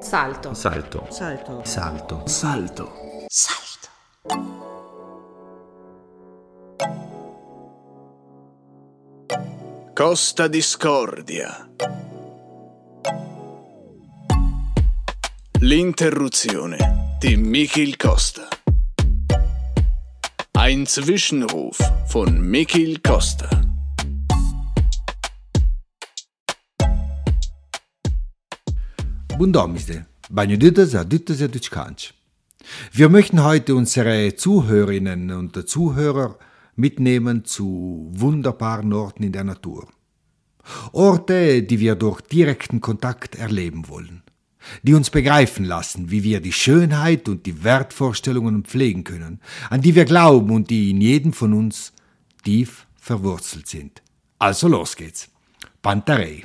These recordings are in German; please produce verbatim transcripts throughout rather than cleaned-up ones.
Salto. Salto. Salto. Salto. Salto. Salto. Costa Discordia. L'interruzione di Michiel Costa. Ein Zwischenruf von Michiel Costa. Bun domniste, banjo dütes a dütes a dütschkansch. Wir möchten heute unsere Zuhörerinnen und Zuhörer mitnehmen zu wunderbaren Orten in der Natur. Orte, die wir durch direkten Kontakt erleben wollen, die uns begreifen lassen, wie wir die Schönheit und die Wertvorstellungen pflegen können, an die wir glauben und die in jedem von uns tief verwurzelt sind. Also los geht's. Pantarei.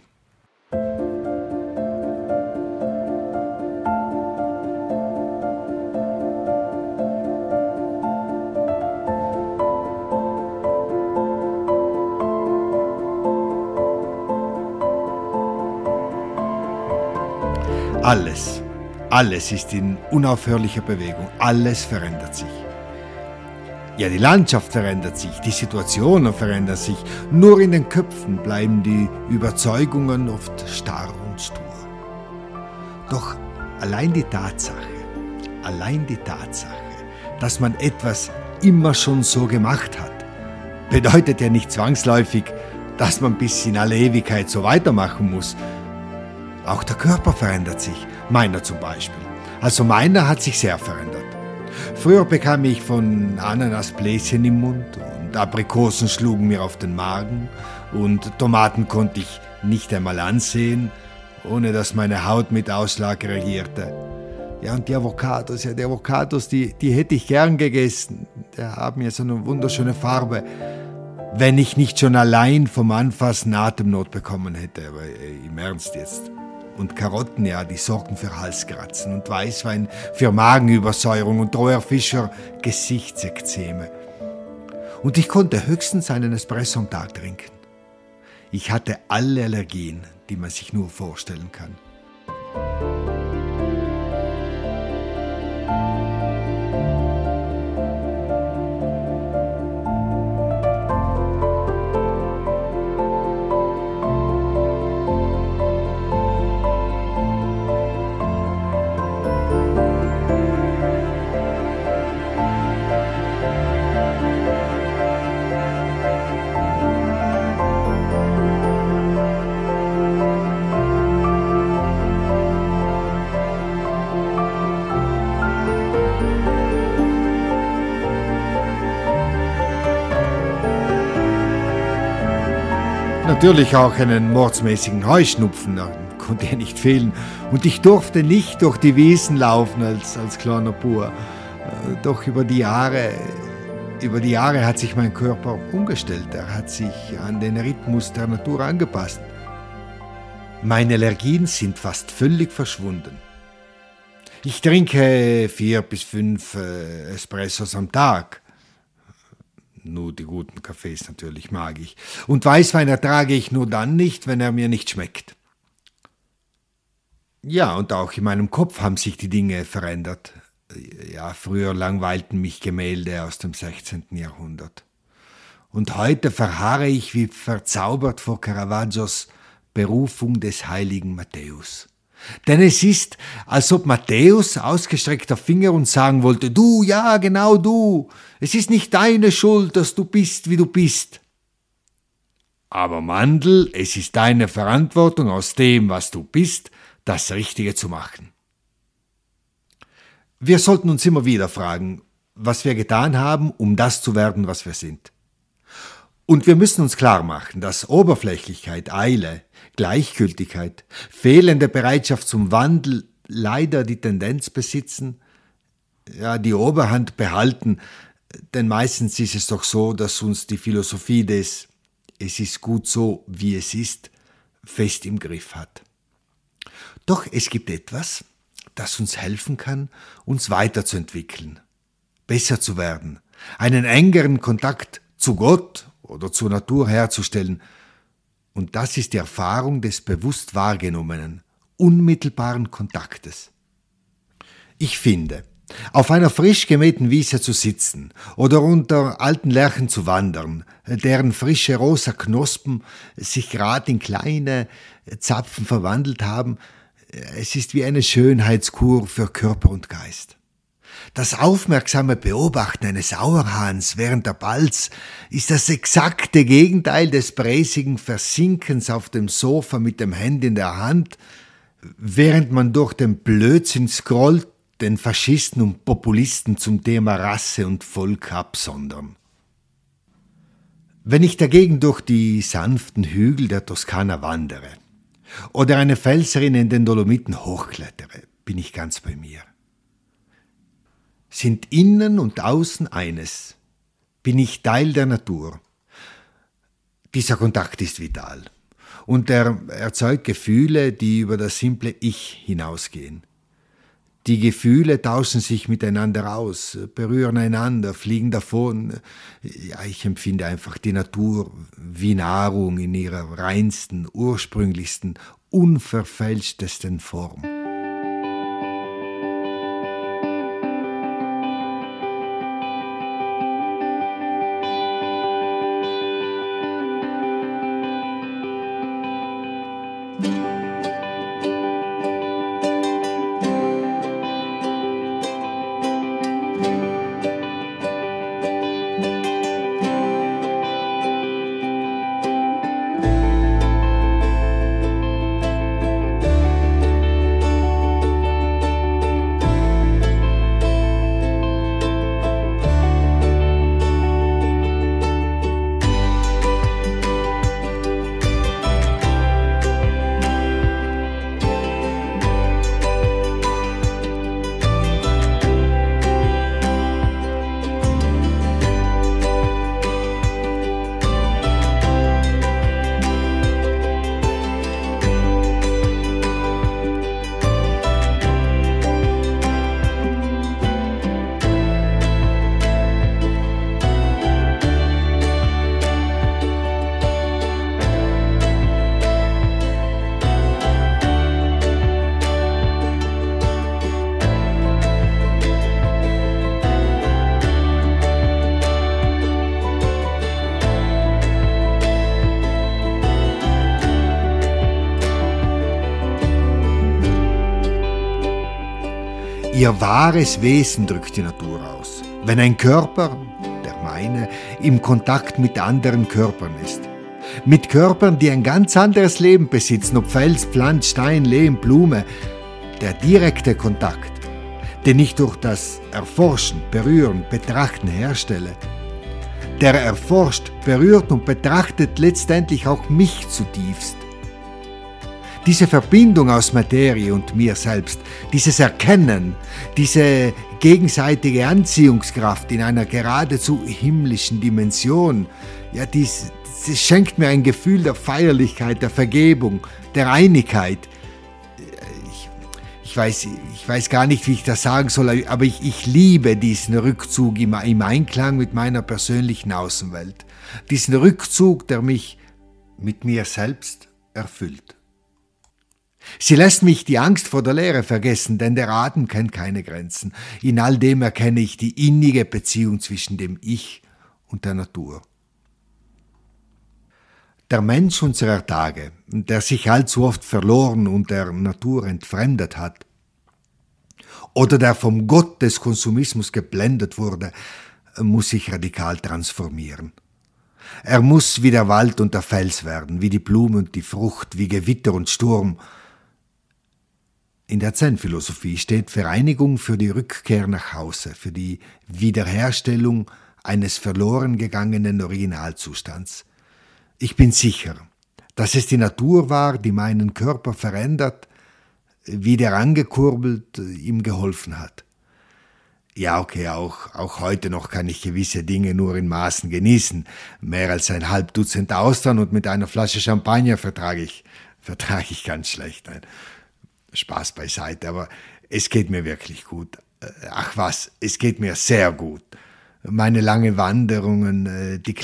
Alles, alles ist in unaufhörlicher Bewegung, alles verändert sich. Ja, die Landschaft verändert sich, die Situationen verändern sich, nur in den Köpfen bleiben die Überzeugungen oft starr und stur. Doch allein die Tatsache, allein die Tatsache, dass man etwas immer schon so gemacht hat, bedeutet ja nicht zwangsläufig, dass man bis in alle Ewigkeit so weitermachen muss. Auch der Körper verändert sich, meiner zum Beispiel. Also meiner hat sich sehr verändert. Früher bekam ich von Ananas Bläschen im Mund und Aprikosen schlugen mir auf den Magen und Tomaten konnte ich nicht einmal ansehen, ohne dass meine Haut mit Ausschlag reagierte. Ja, und die Avocados, ja, die Avocados, die, die hätte ich gern gegessen. Die haben ja so eine wunderschöne Farbe, wenn ich nicht schon allein vom Anfassen Atemnot bekommen hätte. Aber ey, im Ernst jetzt. Und Karotten, ja, die sorgen für Halskratzen und Weißwein für Magenübersäuerung und roher Fischer Gesichtsekzeme. Und ich konnte höchstens einen Espresso am Tag trinken. Ich hatte alle Allergien, die man sich nur vorstellen kann. Natürlich auch einen mordsmäßigen Heuschnupfen, da konnte er nicht fehlen. Und ich durfte nicht durch die Wiesen laufen als, als kleiner Bub. Doch über die Jahre, über die Jahre hat sich mein Körper umgestellt. Er hat sich an den Rhythmus der Natur angepasst. Meine Allergien sind fast völlig verschwunden. Ich trinke vier bis fünf äh, Espressos am Tag. Nur die guten Kaffees natürlich mag ich. Und Weißwein ertrage ich nur dann nicht, wenn er mir nicht schmeckt. Ja, und auch in meinem Kopf haben sich die Dinge verändert. Ja, früher langweilten mich Gemälde aus dem sechzehnten Jahrhundert. Und heute verharre ich wie verzaubert vor Caravaggios Berufung des heiligen Matthäus. Denn es ist, als ob Matthäus ausgestreckter Finger und sagen wollte, du, ja, genau du, es ist nicht deine Schuld, dass du bist, wie du bist. Aber Mandl, es ist deine Verantwortung, aus dem, was du bist, das Richtige zu machen. Wir sollten uns immer wieder fragen, was wir getan haben, um das zu werden, was wir sind. Und wir müssen uns klar machen, dass Oberflächlichkeit, Eile, Gleichgültigkeit, fehlende Bereitschaft zum Wandel leider die Tendenz besitzen, ja, die Oberhand behalten, denn meistens ist es doch so, dass uns die Philosophie des „Es ist gut so, wie es ist“ fest im Griff hat. Doch es gibt etwas, das uns helfen kann, uns weiterzuentwickeln, besser zu werden, einen engeren Kontakt zu Gott oder zur Natur herzustellen. Und das ist die Erfahrung des bewusst Wahrgenommenen, unmittelbaren Kontaktes. Ich finde, auf einer frisch gemähten Wiese zu sitzen oder unter alten Lärchen zu wandern, deren frische rosa Knospen sich gerade in kleine Zapfen verwandelt haben, es ist wie eine Schönheitskur für Körper und Geist. Das aufmerksame Beobachten eines Auerhahns während der Balz ist das exakte Gegenteil des bräsigen Versinkens auf dem Sofa mit dem Handy in der Hand, während man durch den Blödsinn scrollt, den Faschisten und Populisten zum Thema Rasse und Volk absondern. Wenn ich dagegen durch die sanften Hügel der Toskana wandere oder eine Felserin in den Dolomiten hochklettere, bin ich ganz bei mir. Sind innen und außen eines, bin ich Teil der Natur. Dieser Kontakt ist vital und er erzeugt Gefühle, die über das simple Ich hinausgehen. Die Gefühle tauschen sich miteinander aus, berühren einander, fliegen davon. Ja, ich empfinde einfach die Natur wie Nahrung in ihrer reinsten, ursprünglichsten, unverfälschtesten Form. Ihr wahres Wesen drückt die Natur aus, wenn ein Körper, der meine, im Kontakt mit anderen Körpern ist. Mit Körpern, die ein ganz anderes Leben besitzen, ob Fels, Pflanz, Stein, Lehm, Blume. Der direkte Kontakt, den ich durch das Erforschen, Berühren, Betrachten herstelle, der erforscht, berührt und betrachtet letztendlich auch mich zutiefst. Diese Verbindung aus Materie und mir selbst, dieses Erkennen, diese gegenseitige Anziehungskraft in einer geradezu himmlischen Dimension, ja, dies, das schenkt mir ein Gefühl der Feierlichkeit, der Vergebung, der Einigkeit. Ich, ich, weiß, ich weiß gar nicht, wie ich das sagen soll, aber ich, ich liebe diesen Rückzug im, im Einklang mit meiner persönlichen Außenwelt. Diesen Rückzug, der mich mit mir selbst erfüllt. Sie lässt mich die Angst vor der Leere vergessen, denn der Atem kennt keine Grenzen. In all dem erkenne ich die innige Beziehung zwischen dem Ich und der Natur. Der Mensch unserer Tage, der sich allzu oft verloren und der Natur entfremdet hat, oder der vom Gott des Konsumismus geblendet wurde, muss sich radikal transformieren. Er muss wie der Wald und der Fels werden, wie die Blume und die Frucht, wie Gewitter und Sturm. In der Zen-Philosophie steht Vereinigung für die Rückkehr nach Hause, für die Wiederherstellung eines verloren gegangenen Originalzustands. Ich bin sicher, dass es die Natur war, die meinen Körper verändert, wieder angekurbelt, ihm geholfen hat. Ja, okay, auch, auch heute noch kann ich gewisse Dinge nur in Maßen genießen. Mehr als ein halb Dutzend Austern und mit einer Flasche Champagner vertrage ich, vertrage ich ganz schlecht. Nein. Spaß beiseite, aber es geht mir wirklich gut. Ach was, es geht mir sehr gut. Meine langen Wanderungen, die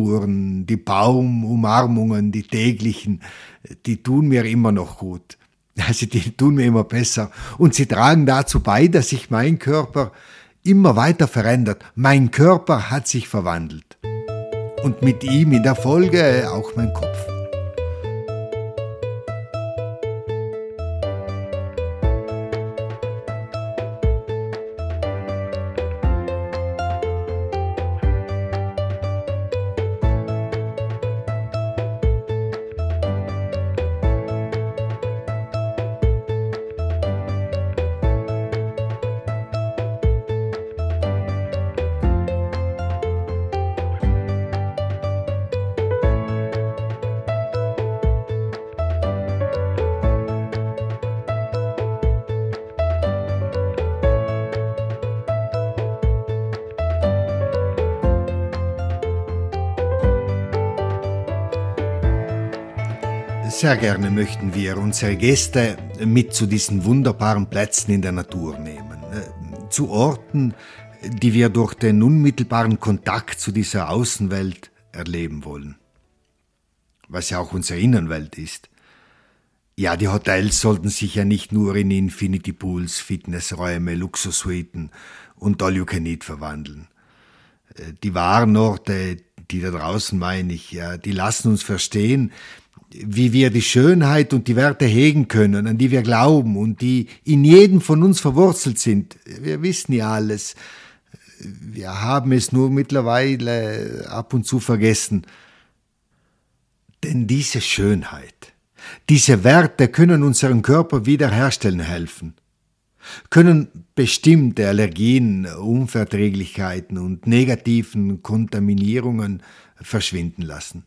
Klettertouren, die Baumumarmungen, die täglichen, die tun mir immer noch gut. Also die tun mir immer besser und sie tragen dazu bei, dass sich mein Körper immer weiter verändert. Mein Körper hat sich verwandelt und mit ihm in der Folge auch mein Kopf. Sehr gerne möchten wir unsere Gäste mit zu diesen wunderbaren Plätzen in der Natur nehmen. Zu Orten, die wir durch den unmittelbaren Kontakt zu dieser Außenwelt erleben wollen. Was ja auch unsere Innenwelt ist. Ja, die Hotels sollten sich ja nicht nur in Infinity Pools, Fitnessräume, Luxussuiten und All-You-Can-Eat verwandeln. Die wahren Orte, die da draußen meine ich, ja, die lassen uns verstehen, wie wir die Schönheit und die Werte hegen können, an die wir glauben und die in jedem von uns verwurzelt sind. Wir wissen ja alles. Wir haben es nur mittlerweile ab und zu vergessen. Denn diese Schönheit, diese Werte können unseren Körper wiederherstellen helfen, können bestimmte Allergien, Unverträglichkeiten und negativen Kontaminierungen verschwinden lassen.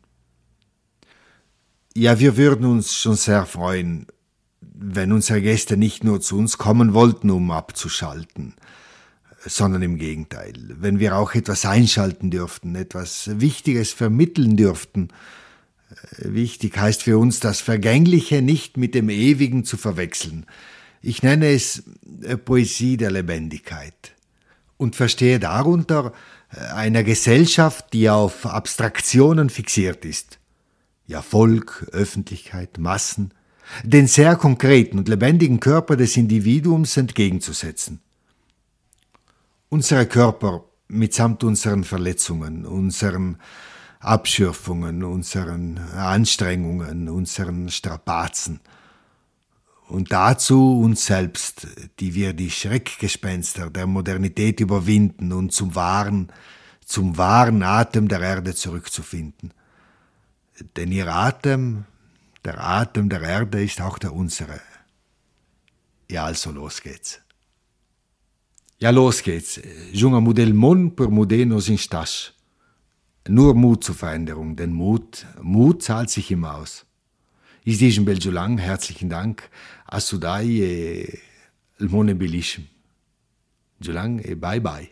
Ja, wir würden uns schon sehr freuen, wenn unsere Gäste nicht nur zu uns kommen wollten, um abzuschalten, sondern im Gegenteil, wenn wir auch etwas einschalten dürften, etwas Wichtiges vermitteln dürften. Wichtig heißt für uns, das Vergängliche nicht mit dem Ewigen zu verwechseln. Ich nenne es Poesie der Lebendigkeit und verstehe darunter eine Gesellschaft, die auf Abstraktionen fixiert ist. Ja, Volk, Öffentlichkeit, Massen, den sehr konkreten und lebendigen Körper des Individuums entgegenzusetzen. Unsere Körper mitsamt unseren Verletzungen, unseren Abschürfungen, unseren Anstrengungen, unseren Strapazen und dazu uns selbst, die wir die Schreckgespenster der Modernität überwinden und zum wahren, zum wahren Atem der Erde zurückzufinden. Denn ihr Atem, der Atem der Erde ist auch der unsere. Ja, also los geht's. Ja, los geht's. Junge Modell Mon per Modenos in Stasch. Nur Mut zur Veränderung, denn Mut, Mut zahlt sich immer aus. Ich dice Belgio lang, herzlichen Dank. Assudai e il mone bellissimo. Giulang e bye bye.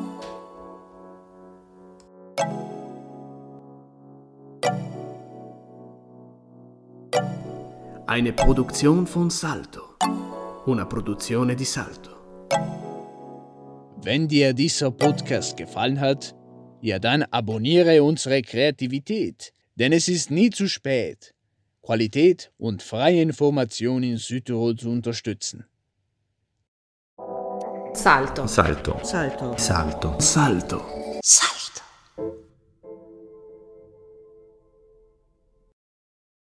Eine Produzione von Salto. Una produzione di Salto. Wenn dir dieser Podcast gefallen hat, ja dann abonniere unsere Kreativität, denn es ist nie zu spät, Qualität und freie Information in Südtirol zu unterstützen. Salto. Salto. Salto. Salto. Salto. Salto.